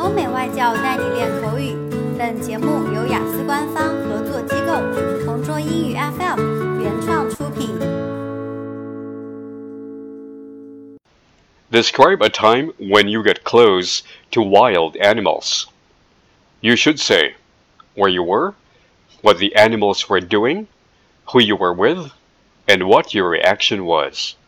欧美外教带你练口语。本节目由雅思官方合作机构同桌英语 FM 原创出品。 Describe a time when you get close to wild animals. You should say where you were, what the animals were doing, who you were with, and what your reaction was.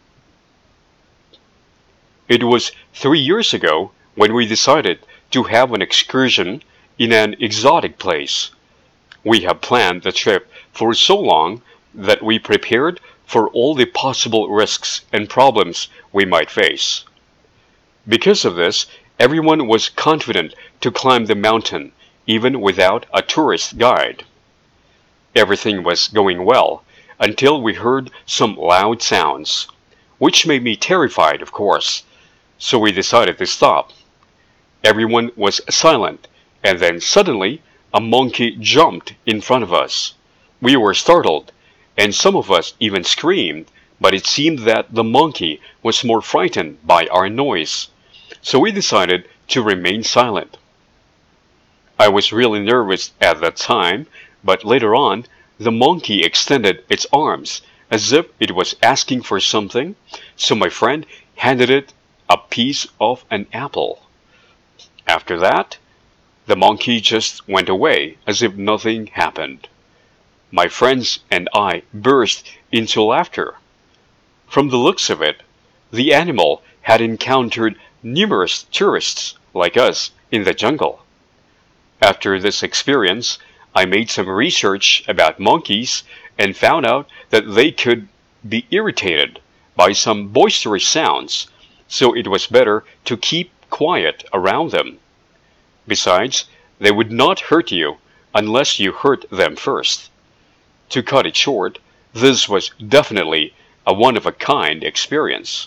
It was 3 years ago when we decided to have an excursion in an exotic place. We have planned the trip for so long that we prepared for all the possible risks and problems we might face. Because of this, everyone was confident to climb the mountain, even without a tourist guide. Everything was going well until we heard some loud sounds, which made me terrified, of course, so we decided to stop. Everyone was silent, and then suddenly a monkey jumped in front of us. We were startled, and some of us even screamed, but it seemed that the monkey was more frightened by our noise, so we decided to remain silent. I was really nervous at that time, but later on, the monkey extended its arms as if it was asking for something, so my friend handed it a piece of an apple. After that, the monkey just went away as if nothing happened. My friends and I burst into laughter. From the looks of it, the animal had encountered numerous tourists like us in the jungle. After this experience, I made some research about monkeys and found out that they could be irritated by some boisterous sounds, so it was better to keep quiet around them. Besides, they would not hurt you unless you hurt them first. To cut it short, this was definitely a one-of-a-kind experience.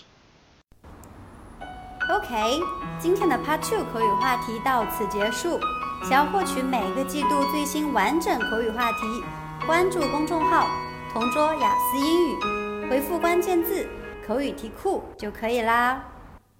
OK， 今天的 Part 2口语话题到此结束。想要获取每个季度最新完整口语话题，关注公众号同桌雅思英语，回复关键字口语题库就可以啦。